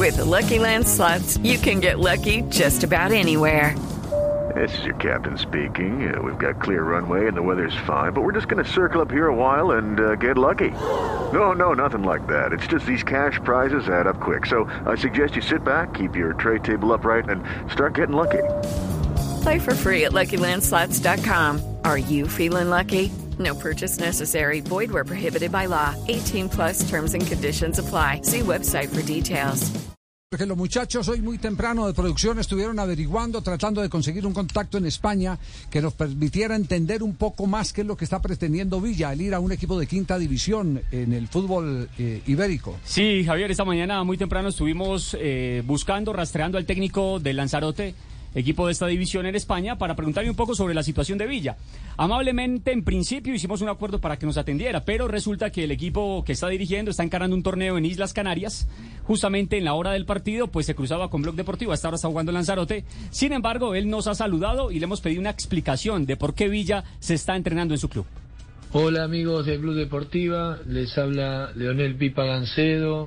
With the Lucky Land Slots, you can get lucky just about anywhere. This is your captain speaking. We've got clear runway and the weather's fine, but we're just going to circle up here a while and get lucky. No, nothing like that. It's just these cash prizes add up quick. So I suggest you sit back, keep your tray table upright, and start getting lucky. Play for free at LuckyLandSlots.com. Are you feeling lucky? No purchase necessary. Void where prohibited by law. 18+ terms and conditions apply. See website for details. Porque los muchachos hoy muy temprano de producción estuvieron averiguando, tratando de conseguir un contacto en España que nos permitiera entender un poco más qué es lo que está pretendiendo Villa, el ir a un equipo de quinta división en el fútbol ibérico. Sí, Javier, esta mañana muy temprano estuvimos rastreando al técnico del Lanzarote, equipo de esta división en España, para preguntarle un poco sobre la situación de Villa. Amablemente, en principio, hicimos un acuerdo para que nos atendiera, pero resulta que el equipo que está dirigiendo está encarando un torneo en Islas Canarias. Justamente en la hora del partido, pues se cruzaba con Blog Deportivo, hasta ahora está jugando en Lanzarote. Sin embargo, él nos ha saludado y le hemos pedido una explicación de por qué Villa se está entrenando en su club. Hola amigos de Blog Deportiva, les habla Leonel Pipa Gancedo.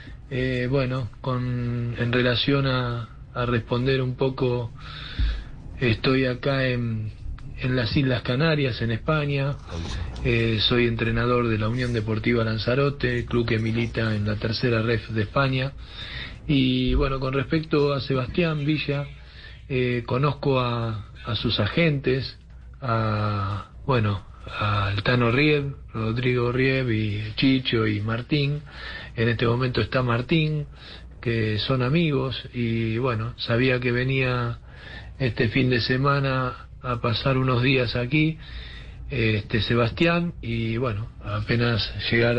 En relación a responder un poco, estoy acá en las Islas Canarias, en España. Soy entrenador de la Unión Deportiva Lanzarote, club que milita en la tercera ref de España. Y bueno, con respecto a Sebastián Villa, conozco a sus agentes, al Tano Rieb, Rodrigo Rieb y Chicho y Martín. En este momento está Martín, que son amigos, y bueno, sabía que venía este fin de semana a pasar unos días aquí, Sebastián, y bueno, apenas llegar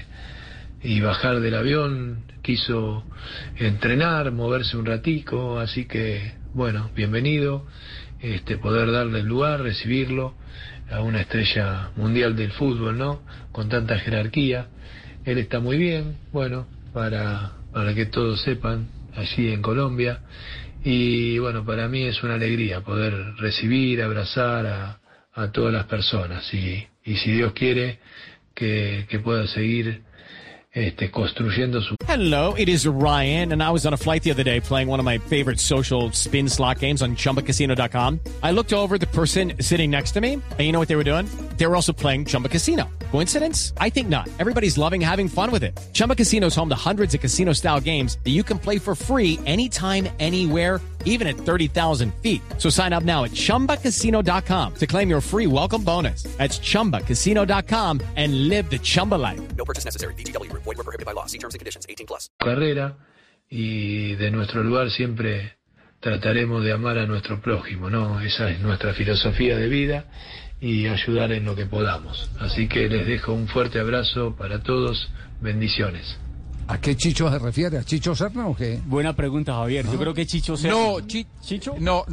y bajar del avión, quiso entrenar, moverse un ratico, así que bueno, bienvenido, poder darle el lugar, recibirlo a una estrella mundial del fútbol, ¿no? Con tanta jerarquía. Él está muy bien, bueno, para que todos sepan, allí en Colombia. Y bueno, para mí es una alegría poder recibir, abrazar a todas las personas. Y si Dios quiere, que pueda seguir construyendo su... Hello, it is Ryan, and I was on a flight the other day playing one of my favorite social spin slot games on ChumbaCasino.com. I looked over at the person sitting next to me, and you know what they were doing? They were also playing Chumba Casino. Coincidence? I think not. Everybody's loving having fun with it. Chumba Casino is home to hundreds of casino-style games that you can play for free anytime, anywhere, even at 30,000 feet. So sign up now at ChumbaCasino.com to claim your free welcome bonus. That's ChumbaCasino.com and live the Chumba life. No purchase necessary. VGW. Void where prohibited by law. See terms and conditions. 18+. Carrera, y de nuestro lugar siempre trataremos de amar a nuestro prójimo, ¿no? Esa es nuestra filosofía de vida, y ayudar en lo que podamos. Así que les dejo un fuerte abrazo para todos. Bendiciones. ¿A qué Chicho se refiere? ¿A Chicho Serna o qué? Buena pregunta, Javier. Yo creo que Chicho Serna... No, ¿Chicho? No.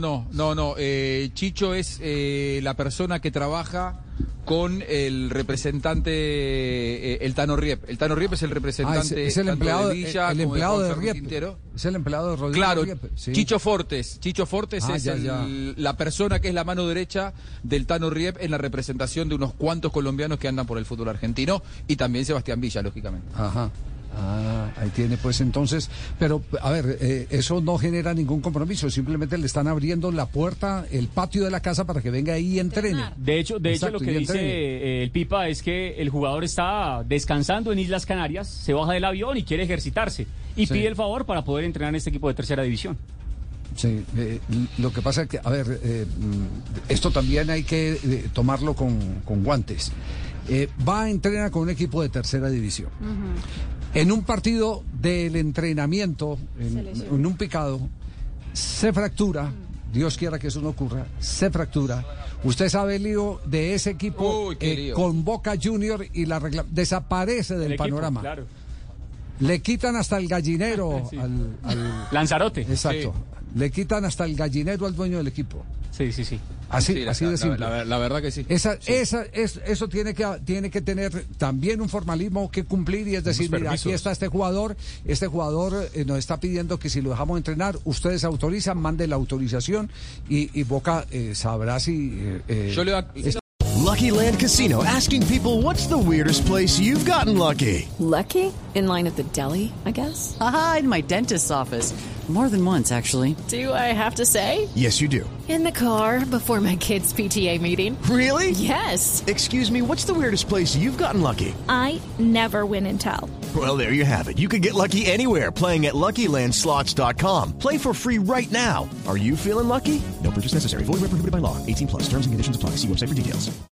Chicho es la persona que trabaja con el representante, el Tano Riep. El Tano Riep es el representante es el empleado de Villa, el empleado de Riep. Quintero. Es el empleado de Rodrigo Claro, Riep. Sí. Chicho Fortes es la persona que es la mano derecha del Tano Riep en la representación de unos cuantos colombianos que andan por el fútbol argentino, y también Sebastián Villa, lógicamente. Ajá. Ahí tiene pues entonces, pero a ver, eso no genera ningún compromiso, simplemente le están abriendo la puerta, el patio de la casa para que venga ahí y entrene. De hecho lo que dice el Pipa es que el jugador está descansando en Islas Canarias, se baja del avión y quiere ejercitarse, y pide el favor para poder entrenar en este equipo de tercera división. Sí, lo que pasa es que, a ver, esto también hay que tomarlo con guantes. Va a entrenar con un equipo de tercera división. En un partido del entrenamiento, en un picado, se fractura, Dios quiera que eso no ocurra, se fractura. Usted sabe el lío de ese equipo con Boca Junior, y desaparece del panorama. Claro. Le quitan hasta el gallinero sí. al Lanzarote. Exacto. Sí. Le quitan hasta el gallinero al dueño del equipo. Sí. Así de simple. La verdad que sí. Eso tiene que tener también un formalismo que cumplir, y es decir, mira, aquí está este jugador nos está pidiendo que si lo dejamos entrenar, ustedes autorizan, mande la autorización, y Boca sabrá si... Yo le Lucky Land Casino, asking people, what's the weirdest place you've gotten lucky? Lucky? In line at the deli, I guess? Aha, in my dentist's office. More than once, actually. Do I have to say? Yes, you do. In the car before my kids' PTA meeting. Really? Yes. Excuse me, what's the weirdest place you've gotten lucky? I never win and tell. Well, there you have it. You can get lucky anywhere, playing at LuckyLandSlots.com. Play for free right now. Are you feeling lucky? No purchase necessary. Void where prohibited by law. 18+. Terms and conditions apply. See website for details.